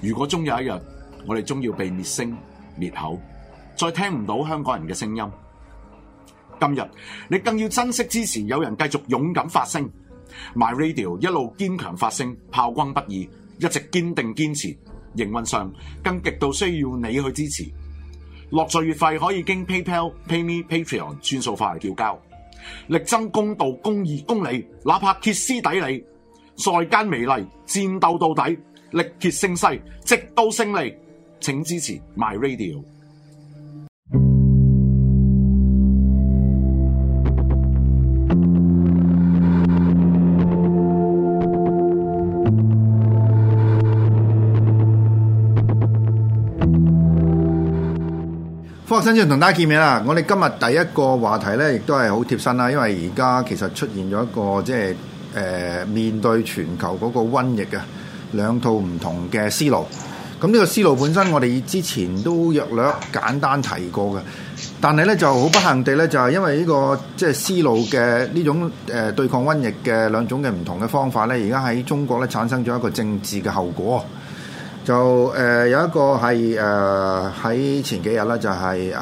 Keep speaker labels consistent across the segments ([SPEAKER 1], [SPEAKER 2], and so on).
[SPEAKER 1] 如果終有一日，我哋終要被滅聲滅口，再聽唔到香港人嘅聲音，今日你更要珍惜支持有人繼續勇敢發聲。My Radio 一路堅強發聲，炮轟不已，一直堅定堅持。營運上更極度需要你去支持。落座月費可以經 PayPal、PayMe、Patreon 轉數化嚟繳交。力爭公道、公義、公理，哪怕歇斯底里，在間美麗，戰鬥到底，力竭勝勢，直到勝利。請支持 My Radio。
[SPEAKER 2] 科學新知同大家見面啦！我哋今日第一個話題咧，亦都係好貼身啦，因為而家其實出現咗一個即係面對全球嗰個瘟疫嘅兩套唔同嘅思路。咁呢個思路本身我哋之前都約略簡單提過嘅，但係咧就好不幸地咧，就係因為呢個即係思路嘅呢種對抗瘟疫嘅兩種嘅唔同嘅方法咧，而家喺中國咧產生咗一個政治嘅後果。就有一個係喺前幾日咧，就係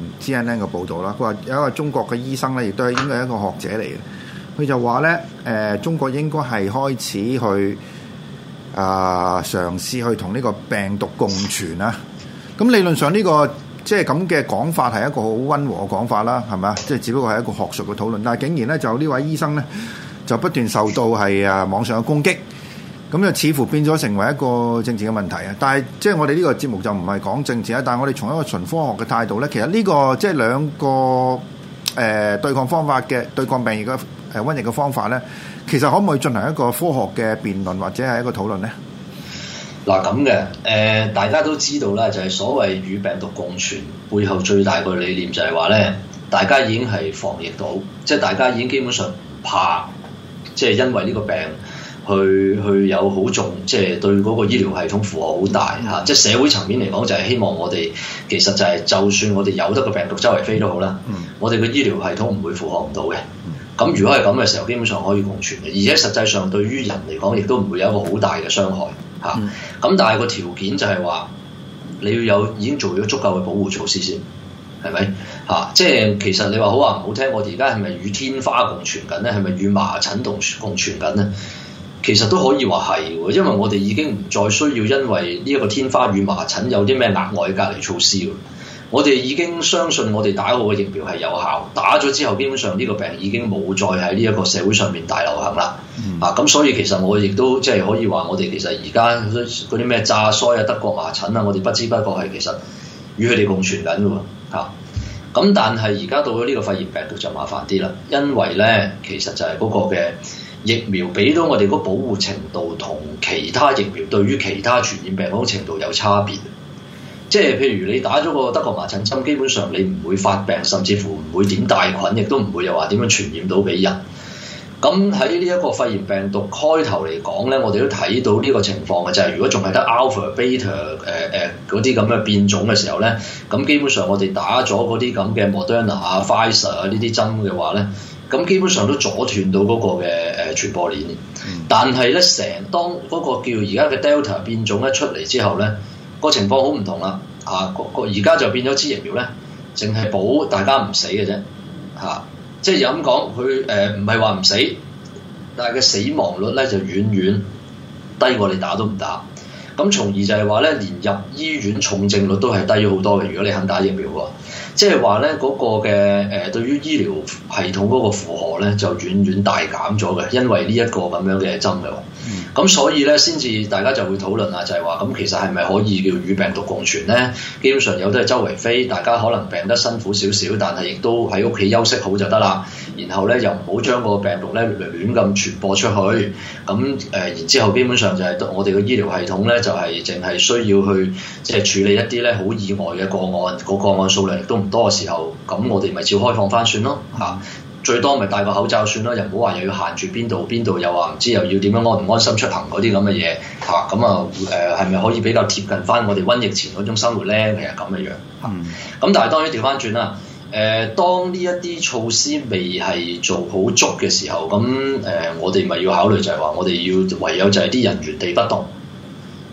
[SPEAKER 2] CNN 嘅報導啦。佢話有一個中國嘅醫生咧，亦都係應該係一個學者嚟嘅。佢就話咧中國應該係開始去嘗試去同呢個病毒共存啊。咁理論上呢個即係咁嘅講法係一個好溫和嘅講法啦，係咪啊？即係只不過係一個學術嘅討論，但係竟然咧就呢位醫生咧就不斷受到係網上嘅攻擊。咁就似乎變咗成為一個政治嘅問題啊！但係即係我哋呢個節目就唔係講政治啊，但係我哋從一個純科學嘅態度咧，其實呢個即係兩個對抗方法嘅對抗病疫嘅瘟疫嘅方法咧，其實可唔可以進行一個科學嘅辯論或者係一個討論咧？
[SPEAKER 3] 嗱咁嘅大家都知道啦，就係所謂與病毒共存背後最大個理念就係話咧，大家已經係防疫到，即係大家已經基本上唔怕，即係因為呢個病。去有好重，即係對嗰個醫療系統負荷好大嚇。即係社會層面嚟講，就係希望我哋其實就係就算我哋有得個病毒周圍飛都好啦，我哋個醫療系統唔會負荷唔到嘅。咁如果係咁嘅時候，基本上可以共存嘅，而且實際上對於人嚟講，亦都唔會有一個好大嘅傷害嚇。咁但係個條件就係話，你要有已經做咗足夠嘅保護措施先，係咪嚇？即係其實你話好話唔好聽，我哋而家係咪與天花共存緊咧？係咪與麻疹共存緊咧？其實都可以話係喎，因為我哋已經唔再需要因為呢一個天花與麻疹有啲咩額外隔離措施喎。我哋已經相信我哋打好嘅疫苗係有效，打咗之後基本上呢個病已經冇再喺呢一個社會上面大流行啦。咁所以其實我亦都即係可以話，我哋其實而家嗰啲咩炸腮啊、德國麻疹啊，我哋不知不覺係其實與佢哋共存緊嘅喎。咁但係而家到咗呢個肺炎病毒就麻煩啲啦，因為咧其實就係嗰個嘅疫苗俾到我哋個保護程度同其他疫苗對於其他傳染病嗰種程度有差別。即係譬如你打咗個德國麻疹針，基本上你唔會發病，甚至乎唔會點帶菌，亦都唔會又話點樣傳染到俾人。咁喺呢一個肺炎病毒開頭嚟講咧，我哋都睇到呢個情況嘅就係，如果仲係得 alpha、beta 嗰啲咁嘅變種嘅時候咧，咁基本上我哋打咗嗰啲咁嘅 Moderna 啊、Pfizer 啊呢啲針嘅話咧，咁基本上都阻斷到嗰個嘅傳播鏈。但係咧，當嗰個叫而家嘅 Delta 變種一出嚟之後咧，個情況好唔同啦。而家就變咗支疫苗咧，淨係保大家唔死嘅啫。即係有咁講，佢唔係話唔死，但係嘅死亡率咧就遠遠低過你打都唔打。咁從而就係話咧，連入醫院重症率都係低咗好多嘅。如果你肯打疫苗喎，即係話咧嗰個嘅對於醫療系統嗰個負荷咧就遠遠大減咗嘅，因為呢一個咁樣嘅針嘅。咁所以咧，先至大家就會討論啊，就係話咁其實係咪可以叫與病毒共存咧？基本上有都係周圍飛，大家可能病得辛苦少少，但係亦都喺屋企休息好就得啦。然後咧又唔好將個病毒咧亂咁傳播出去。咁然之後基本上就係我哋嘅醫療系統咧就係淨係需要去即係處理一啲咧好意外嘅個案，個案數量亦都唔多嘅時候，咁我哋咪照開放翻算咯嚇。最多咪戴個口罩算啦，又唔好話又要限住邊度，又話唔知又要點樣安唔安心出行嗰啲咁嘅嘢嚇。咁係咪可以比較貼近翻我哋瘟疫前嗰種生活咧？其實咁嘅樣嚇。咁但係當然調翻轉啦。當呢一啲措施未係做好足嘅時候，咁我哋咪要考慮就係話，我哋要唯有就係啲人原地不動，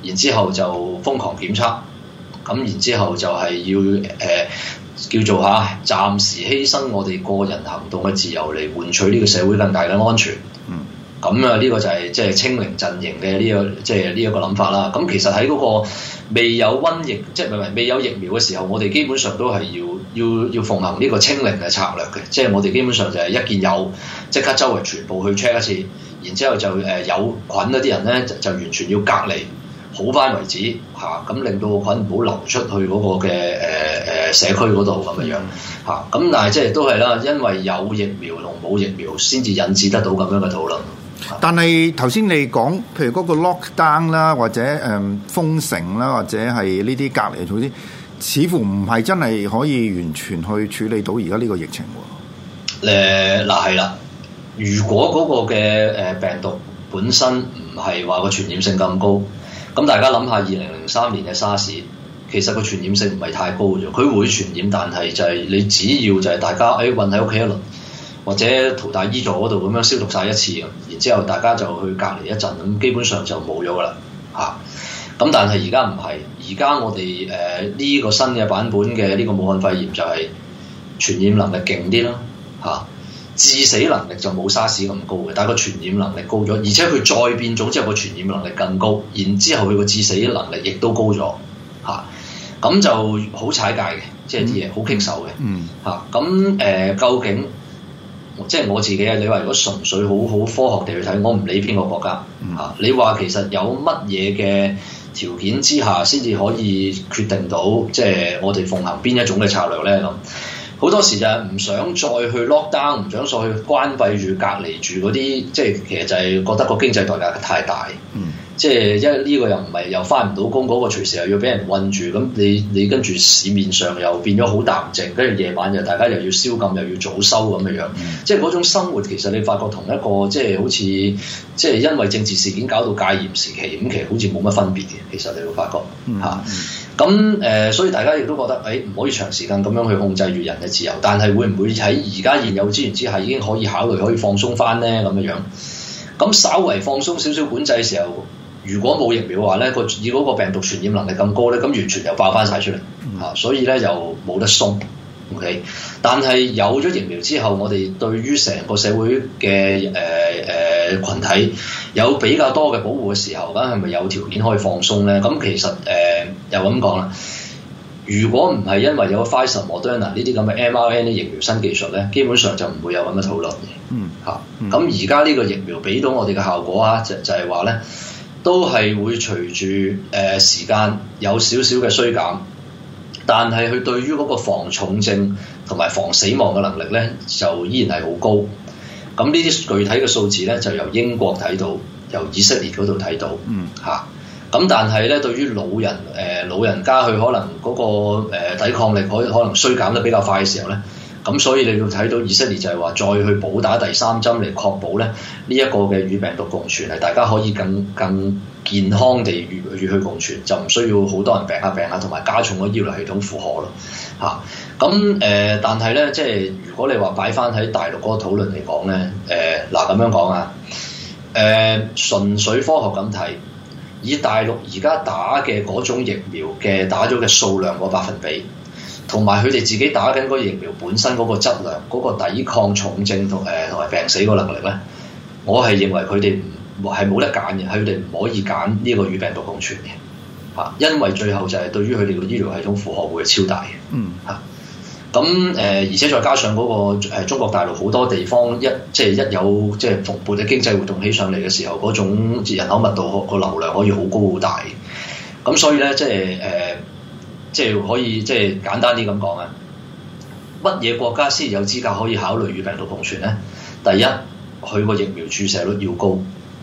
[SPEAKER 3] 然之後就瘋狂檢測，咁然之後就係要叫做暫時犧牲我哋個人行動嘅自由嚟換取呢個社會更大嘅安全。咁啊，呢個就係即係清零陣營嘅呢個即係呢一個諗法啦。咁其實喺嗰個未有瘟疫，即係未有疫苗嘅時候，我哋基本上都係要奉行呢個清零嘅策略嘅。即係我哋基本上就係一見有即刻周圍全部去 check 一次，然之後就有菌嗰啲人咧就完全要隔離好翻為止嚇，咁令到個菌唔好流出去嗰個嘅社區嗰度咁樣嚇。咁但係即係都係啦，因為有疫苗同冇疫苗先至引致得到咁樣嘅討論。
[SPEAKER 2] 但係頭先你講，譬如嗰個 lockdown 啦，或者封城啦，或者係呢啲隔離措施，似乎唔係真係可以完全去處理到而家呢個疫情喎。
[SPEAKER 3] 嗱係啦，如果嗰個嘅病毒本身唔係話個傳染性咁高，咁大家諗下2003年嘅沙士，其實個傳染性唔係太高嘅啫，佢會傳染，但係就係你只要就係大家韞喺屋企一輪，或者淘大醫座嗰度咁樣消毒晒一次，然之後大家就去隔離一陣，咁基本上就冇咗噶啦嚇。咁但係而家唔係，而家我哋呢個新嘅版本嘅呢個武漢肺炎就係傳染能力勁啲啦嚇，致死能力就冇沙士咁高嘅，但係個傳染能力高咗，而且佢再變種之後個傳染能力更高，然之後佢個致死能力亦都高咗嚇，咁就好踩界嘅，即係啲嘢好棘手嘅嚇。咁究竟即係我自己啊？你話如果純粹好科學地去睇，我唔理邊個國家嚇，你話其實有乜嘢嘅條件之下先至可以決定到即係我哋奉行邊一種嘅策略咧咁？好多時就係唔想再去 lock down，唔想再去關閉住、隔離住嗰啲，即係其實就係覺得個經濟代價太大。即係因為呢個又唔係又翻唔到工，嗰個隨時又要俾人韞住，咁你跟住市面上又變咗好淡靜，跟住夜晚又大家又要宵禁，又要早收咁嘅樣。即係嗰種生活其實你發覺同一個即係好似即係因為政治事件搞到戒嚴時期咁，其實好似冇乜分別嘅。其實你會發覺嚇。咁所以大家亦都覺得唔可以長時間咁樣去控制住人嘅自由，但係會唔會喺而家現有資源之下已經可以考慮可以放鬆翻呢？咁嘅樣？咁稍為放鬆少少管制嘅時候，如果冇疫苗嘅話咧，以嗰個病毒傳染能力咁高咧，咁完全又爆翻晒出嚟嚇，所以咧又冇得鬆。OK， 但係有咗疫苗之後，我哋對於成個社會嘅群體有比較多嘅保護嘅時候，咁係咪有條件可以放鬆咧？咁其實又咁講啦，如果唔係因為有 Pfizer、Moderna 呢啲咁嘅 mRNA 疫苗新技術咧，基本上就唔會有咁嘅討論嘅。咁而家呢個疫苗俾到我哋嘅效果啊，就係話咧，都係會隨住時間有少少嘅衰減，但係佢對於嗰個防重症同埋防死亡嘅能力咧，就依然係好高。咁呢啲具體嘅數字咧，就由英國睇到，由以色列嗰度睇到嚇。咁但係咧，對於老人家佢可能嗰個抵抗力可能衰減得比較快嘅時候咧，咁所以你要睇到以色列就係話再去補打第3針嚟確保咧呢一個嘅與病毒共存係大家可以更健康地與佢共存，就唔需要好多人病下，同埋加重個醫療系統負荷咯嚇。咁但係咧，即係如果你話擺翻喺大陸嗰個討論嚟講咧，嗱咁樣講啊，純粹科學咁睇。以大陸而家打嘅嗰種疫苗嘅打咗嘅數量個百分比，同埋佢哋自己打緊嗰疫苗本身嗰個質量、嗰個抵抗重症同埋病死個能力咧，我係認為佢哋係冇得揀嘅，佢哋唔可以揀呢個與病毒共存嘅嚇，因為最後就係對於佢哋個醫療系統負荷會超大嘅嚇。咁而且再加上嗰個中國大陸好多地方一有即係蓬勃嘅經濟活動起上嚟嘅時候，嗰種人口密度個流量可以好高好大。咁所以咧，即係可以即係簡單啲咁講啊，乜嘢國家先有資格可以考慮與病毒共存咧？第一，佢個疫苗注射率要高，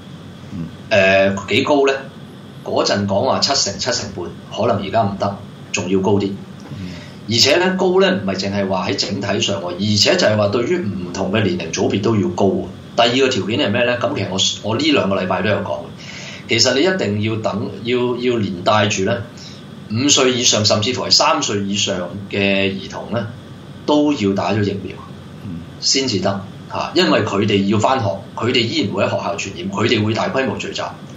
[SPEAKER 3] 幾高咧？嗰陣講話7成半，可能而家唔得，仲要高啲。而且咧高咧唔係淨係話喺整體上喎，而且就係話對於唔同嘅年齡組別都要高。第二個條件係咩咧？咁其實我呢2個禮拜都有講，其實你一定要等，要連帶住咧5歲以上，甚至乎係3歲以上嘅兒童咧都要打咗疫苗先至得嚇，因為佢哋要返學，佢哋依然會喺學校傳染，佢哋會大規模聚集。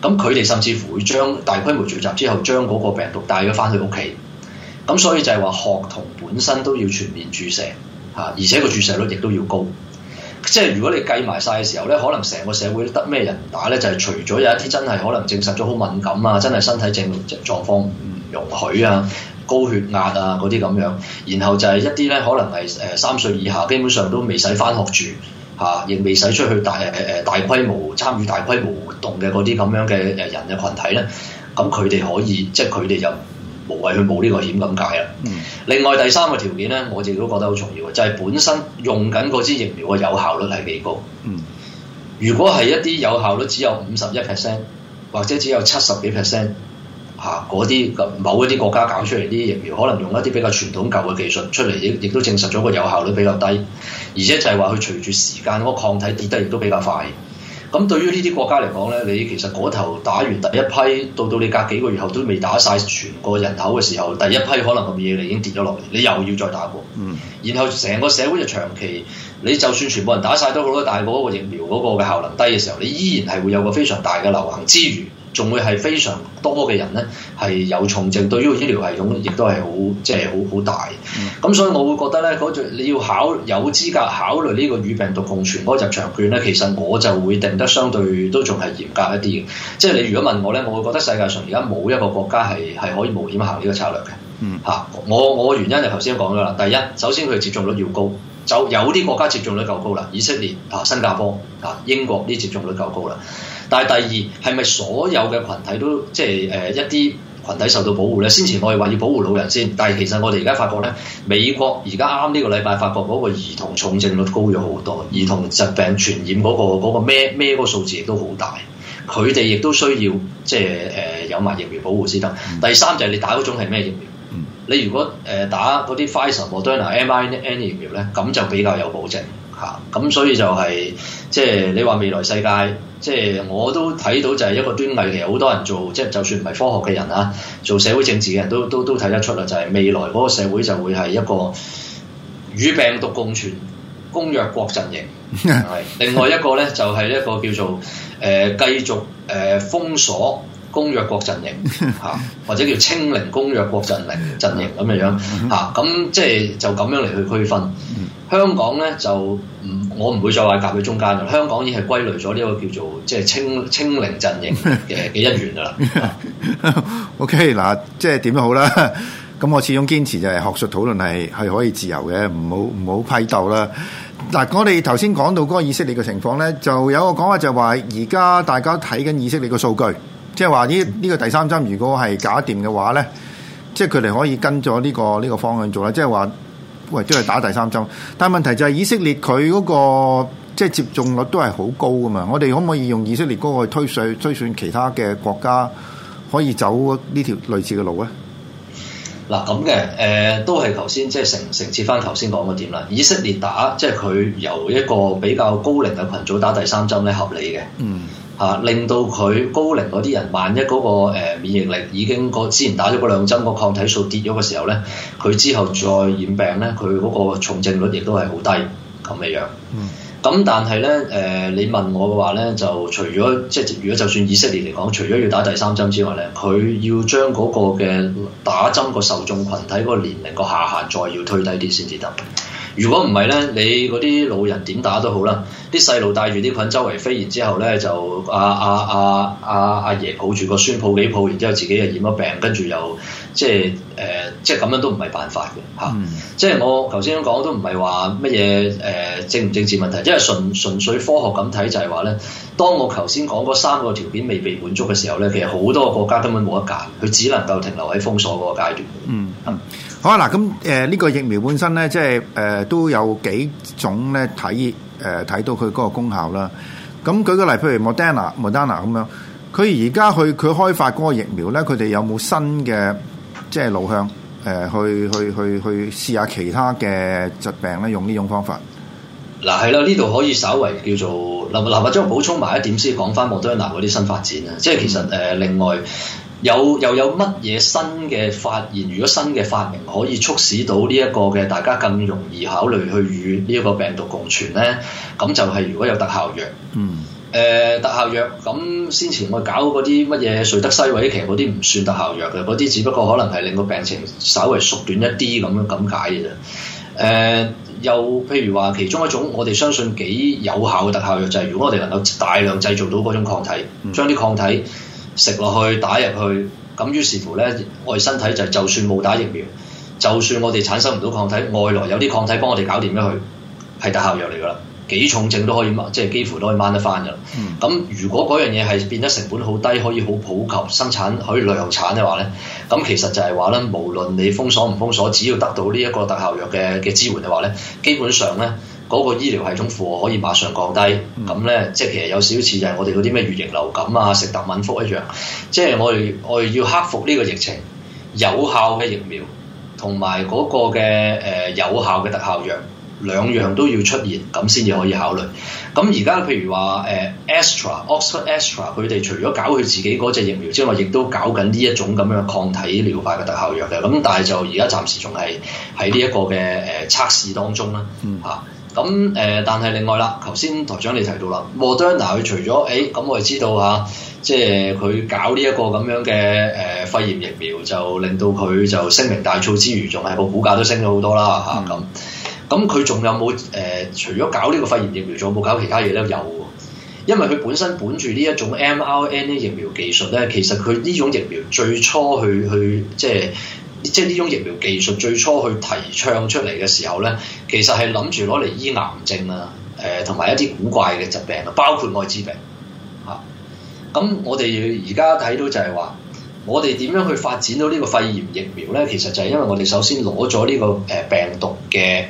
[SPEAKER 3] 咁佢哋甚至乎會將大規模聚集之後，將嗰個病毒帶咗翻去屋企。咁所以就係話學童本身都要全面注射嚇，而且個注射率亦都要高。即係如果你計埋晒嘅時候咧，可能成個社會得咩人唔打咧？就係、是、除咗有一啲真係可能證實咗好敏感啊，真係身體狀況唔容許啊、高血壓啊嗰啲咁樣，然後就係一啲咧可能係3歲以下，基本上都未使返學住嚇，亦未使出去大規模參與大規模活動嘅嗰啲咁樣嘅人嘅群體咧，咁佢哋可以即係佢哋就無謂去冒呢個險咁解啦。另外第三個條件咧，我哋都覺得好重要嘅，就係本身用緊嗰支疫苗嘅有效率係幾高。如果係一啲有效率只有51%或者只有70幾%嚇，嗰啲某一啲國家搞出嚟啲疫苗，可能用一啲比較傳統舊嘅技術出嚟，亦都證實咗個有效率比較低，而且就係話佢隨住時間嗰個抗體跌得亦都比較快。咁對於呢啲國家嚟講咧，你其實嗰頭打完第一批，到你隔幾個月後都未打晒全個人口嘅時候，第一批可能咁嘢你已經跌咗落嚟，你又要再打過。然後成個社會就長期，你就算全部人打晒都好啦，但係嗰個疫苗嗰個嘅效能低嘅時候，你依然係會有個非常大嘅流行之餘，仲會係非常多嘅人咧係有重症，對於個醫療系統亦都係好大。咁所以我會覺得咧，你要有資格考慮呢個與病毒共存嗰個入場券咧，其實我就會定得相對都仲係嚴格一啲嘅。即係你如果問我咧，我會覺得世界上而家冇一個國家係可以冒險行呢個策略嘅。我原因就頭先講咗啦。第一，首先佢接種率要高，就有啲國家接種率夠高啦，以色列新加坡英國啲接種率夠高啦。但係第二係咪所有嘅群體都即係一啲群體受到保護咧？先前我哋話要保護老人先，但係其實我哋而家發覺咧，美國而家啱呢個禮拜發覺嗰個兒童重症率高咗好多，兒童疾病傳染嗰個咩嗰個數字亦都好大，佢哋亦都需要即係有埋疫苗保護先得。第三就係你打嗰種係咩疫苗？你如果打嗰啲 Pfizer、Moderna、mRNA 疫苗咧，咁就比較有保證嚇。咁所以就係即係你話未來世界。即係我都睇到就係一個端倪，其實好多人做即係就算唔係科學嘅人啊，做社會政治嘅人都睇得出啦，就係未來嗰個社會就會係一個與病毒共存公約國陣營，係另外一個咧就係一個叫做繼續封鎖公約國陣營嚇，或者叫清零公約國陣營咁嘅樣嚇，咁即係就咁樣嚟去區分。香港咧就我唔會再話夾喺中間嘅，香港已經係歸類咗呢個叫做即係清零陣營嘅一員㗎啦。
[SPEAKER 2] OK 嗱，即係點都好啦。咁我始終堅持就係學術討論係可以自由嘅，唔好批鬥啦。嗱，我哋頭先講到嗰個以色列嘅情況咧，就有個講法就係話，而家大家睇緊以色列嘅數據，即係話呢個第三針如果係搞掂嘅話咧，即係佢哋可以跟咗呢個方向做啦，即係話。喂，都係打第三針，但係問題就係以色列佢嗰個即係接種率都係好高噶嘛，我哋可唔可以用以色列嗰個推算其他嘅國家可以走呢條類似嘅路咧？
[SPEAKER 3] 嗱咁嘅都係頭先即係承接翻頭先講嗰點啦。以色列打即係佢由一個比較高齡嘅群組打第三針咧，合理嘅。令到佢高齡嗰啲人，萬一嗰個免疫力已經之前打咗嗰兩針個抗體數跌咗嘅時候咧，佢之後再染病咧，佢嗰個重症率亦都係好低咁嘅樣。咁但係咧你問我嘅話咧，就除咗即係如果就算以色列嚟講，除咗要打第三針之外咧，佢要將嗰個嘅打針個受眾群體嗰個年齡個下限再要推低啲先至得。如果唔係咧，你嗰啲老人點打都好啦，啲細路帶住啲菌周圍飛，然之後咧就阿爺抱住個孫抱幾抱，然之後自己又染咗病，跟住又即係咁樣都唔係辦法嘅嚇。即係我頭先講都唔係話乜嘢政唔政治問題，因為純粹科學咁睇就係話咧，當我頭先講嗰三個條件未被滿足嘅時候咧，其實好多個國家根本冇得揀，佢只能夠停留喺封鎖嗰個階段。
[SPEAKER 2] 好啊，嗱咁呢個疫苗本身咧，即係都有幾種咧睇到佢嗰個功效啦。咁舉個例，譬如 Moderna 咁樣，佢而家佢開發嗰個疫苗咧，佢哋有冇新嘅即係路向去試下其他嘅疾病咧？用呢種方法。
[SPEAKER 3] 嗱係啦，呢度可以稍微叫做嗱或者我補充埋一點先，講翻 Moderna 嗰啲新發展啊，即係其實另外。又有乜嘢新嘅發現？如果新嘅發明可以促使到呢一個嘅大家更容易考慮去與呢一個病毒共存咧，咁就係如果有特效藥， 特效藥咁先前我搞嗰啲乜嘢瑞德西韋，其實嗰啲唔算特效藥嘅，嗰啲只不過可能係令個病情稍微縮短一啲咁解嘅啫。又譬如話其中一種我哋相信幾有效嘅特效藥就係如果我哋能夠大量製造到嗰種抗體，將啲抗體食落去打入去，咁於是乎咧我哋身體就算冇打疫苗，就算我哋產生唔到抗體，外來有啲抗體幫我哋搞掂咗佢，係特效藥嚟㗎啦。幾重症都可以即係幾乎都可以掹得翻㗎啦。咁如果嗰樣嘢係變得成本好低，可以好普及生產，可以量產嘅話咧，咁其實就係話咧，無論你封鎖唔封鎖，只要得到呢一個特效藥嘅支援嘅話咧，基本上咧嗰個醫療系統負荷可以馬上降低。咁咧即係其實有少少似就係我哋嗰啲咩乙型流感啊、食特敏福一樣，即係我哋要克服呢個疫情，有效嘅疫苗同埋嗰個嘅有效嘅特效藥。兩樣都要出現，咁先至可以考慮。咁而家譬如話Oxford Astra 佢哋除咗搞佢自己嗰隻疫苗之外，亦都搞緊呢一種咁樣抗體療法嘅特效藥嘅。咁但係就而家暫時仲係喺呢一個嘅測試當中啦。咁但係另外啦，頭先台長你提到啦，Moderna 佢除咗咁我哋知道嚇，即係佢搞呢一個咁樣嘅肺炎疫苗，就令到佢就聲名大噪之餘，仲係個股價都升咗好多啦嚇咁。咁佢仲有冇除咗搞呢個肺炎疫苗，仲有冇搞其他嘢咧？有喎，因為佢本身本住呢一種 mRNA 疫苗技術咧，其實佢呢種疫苗最初去即係呢種疫苗技術最初去提倡出嚟嘅時候咧，其實係諗住攞嚟醫癌症啊，同埋一啲古怪嘅疾病啊，包括愛滋病嚇。咁我哋而家睇到就係話，我哋點樣去發展到呢個肺炎疫苗咧？其實就係因為我哋首先攞咗呢個病毒嘅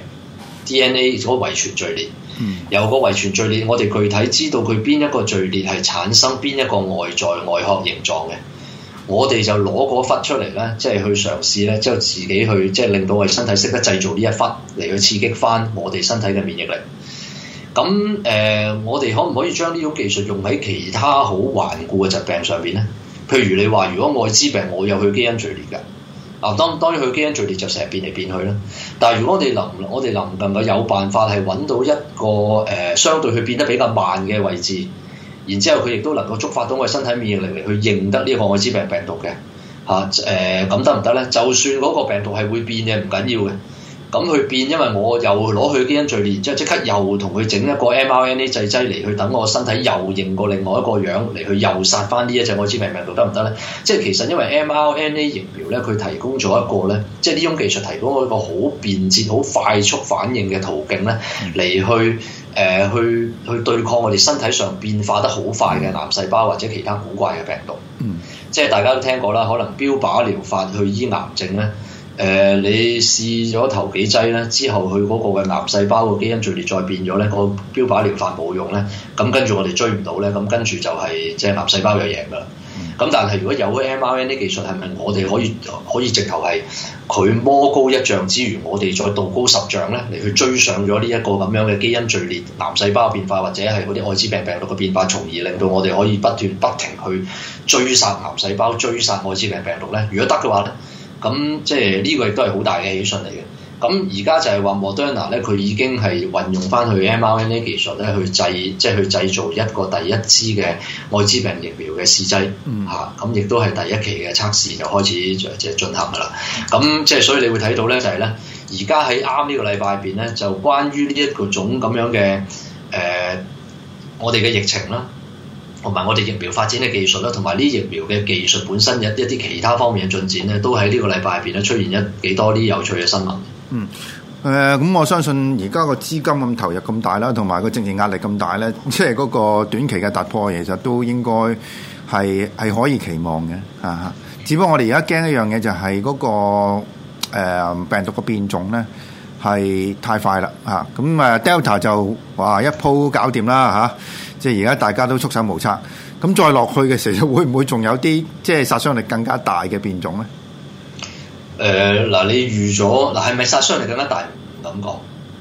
[SPEAKER 3] DNA 嗰個遺傳序列，由個遺傳序列，我哋具體知道佢邊一個序列係產生邊一個外殼形狀嘅，我哋就攞嗰忽出嚟咧，即係去嘗試咧，之後自己去即係令到我哋身體識得製造呢一忽嚟去刺激翻我哋身體嘅免疫力。咁我哋可唔可以將呢種技術用喺其他好頑固嘅疾病上邊咧？譬如你話，如果愛滋病我有佢基因序列嘅。當然佢基因序列就成日變嚟變去啦。但係如果我哋能唔能夠有辦法係揾到一個相對佢變得比較慢嘅位置，然之後佢亦都能夠觸發到我哋身體免疫力嚟去認得呢個愛滋病病毒嘅咁得唔得咧？就算嗰個病毒係會變嘅，唔緊要嘅。咁佢變，因為我又攞佢基因序列，然之後即刻又同佢整一個 mRNA 製劑嚟去等我身體又認過另外一個樣嚟去又殺翻呢一隻愛滋病病毒得唔得咧？即係其實因為 mRNA 疫苗咧，佢提供咗一個咧，即係呢種技術提供咗一個好便捷、好快速反應嘅途徑咧，嚟去對抗我哋身體上變化得好快嘅癌細胞或者其他古怪嘅病毒。即係大家都聽過啦，可能標靶療法去醫癌症咧。你試咗頭幾劑咧，之後佢嗰個嘅癌細胞個基因序列再變咗咧，個標靶療法冇用咧，咁跟住我哋追唔到咧，咁跟住就係即係癌細胞就贏噶啦。咁但係如果有 mRNA 技術，係咪我哋可以直頭係佢魔高一丈之餘，我哋再道高10丈咧，嚟去追上咗呢一個咁樣嘅基因序列癌細胞變化，或者係嗰啲愛滋病病毒嘅變化，從而令到我哋可以不停去追殺癌細胞、追殺愛滋病病毒咧？如果得嘅話咧？咁即係呢個亦都係好大嘅喜訊嚟嘅。咁而家就係話 Moderna 咧，佢已經係運用翻佢 mRNA 技術咧，去製造一個第一支嘅愛滋病疫苗嘅試劑嚇。咁亦都係第一期嘅測試就開始即係進行㗎啦。咁即係所以你會睇到咧，就係咧，而家喺啱呢個禮拜入邊咧，就關於呢一個種咁樣嘅我哋嘅疫情啦。同埋我哋疫苗發展嘅技術啦，同埋呢疫苗嘅技術本身一啲其他方面嘅進展咧，都喺呢個禮拜入邊咧出現幾多啲有趣嘅新聞。
[SPEAKER 2] 咁我相信而家個資金咁投入咁大啦，同埋個政治壓力咁大咧，即係嗰個短期嘅突破，其實都應該係可以期望嘅嚇。只不過我哋而家驚一樣嘢就係嗰個病毒嘅變種咧係太快啦嚇。咁Delta 就話一鋪搞掂啦嚇。即係而家大家都束手無策，咁再落去嘅時候，會唔會仲有啲即係殺傷力更加大嘅變種咧？
[SPEAKER 3] 你預咗係咪殺傷力更加大？唔敢講，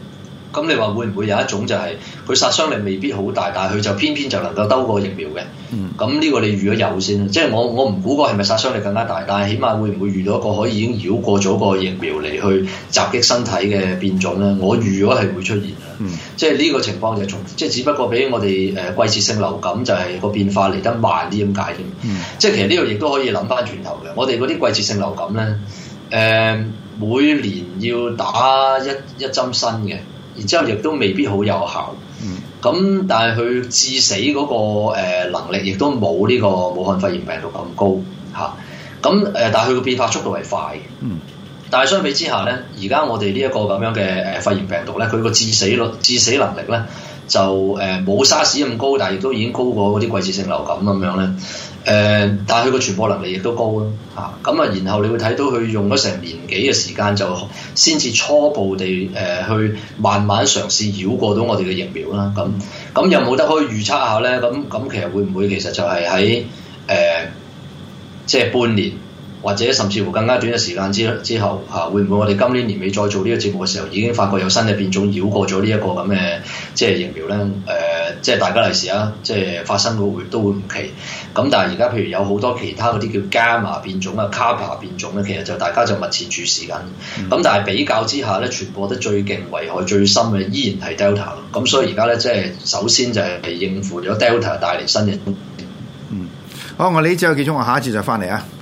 [SPEAKER 3] 咁你話會唔會有一種就係佢殺傷力未必好大，但係佢就偏偏就能夠兜過疫苗嘅？咁呢個你預咗有先，即係我唔估個係咪殺傷力更加大，但係起碼會唔會遇到一個可以已經繞過咗個疫苗嚟去襲擊身體嘅變種咧？我預咗係會出現嘅，即係呢個情況就即係只不過比我哋季節性流感就係個變化嚟得慢啲咁解添。即係其實呢個亦都可以諗翻轉頭嘅，我哋嗰啲季節性流感咧，每年要打一針新嘅。然之後亦都未必好有效，咁但係佢致死嗰個能力亦都冇呢個武漢肺炎病毒咁高嚇，咁但係佢個變化速度係快嘅，但係相比之下咧，而家我哋呢一個咁樣嘅肺炎病毒咧，佢個致死能力咧就冇沙士咁高，但係亦都已經高過嗰啲季節性流感咁樣咧。但係佢個傳播能力亦都高咯嚇，咁啊，然後你會睇到佢用咗成年幾嘅時間，就先至初步地去慢慢嘗試繞過到我哋嘅疫苗啦。咁有冇得可以預測下咧？咁其實會唔會其實就係喺即係半年或者甚至乎更加短嘅時間之後嚇，會唔會我哋今年年尾再做呢個節目嘅時候，已經發覺有新嘅變種繞過咗呢一個咁嘅即係疫苗咧？即係大家利是啊，即係發生都會唔奇。咁但係而家譬如有好多其他嗰啲叫伽馬變種啊、卡帕變種咧，其實就大家就密切注視緊。咁但係比較之下咧，傳播得最勁、危害最深嘅依然係 Delta 咯。咁所以而家咧，即係首先就係應付咗 Delta 帶嚟新嘅。
[SPEAKER 2] 好，我哋呢節有幾鐘，我下一節就翻嚟啊。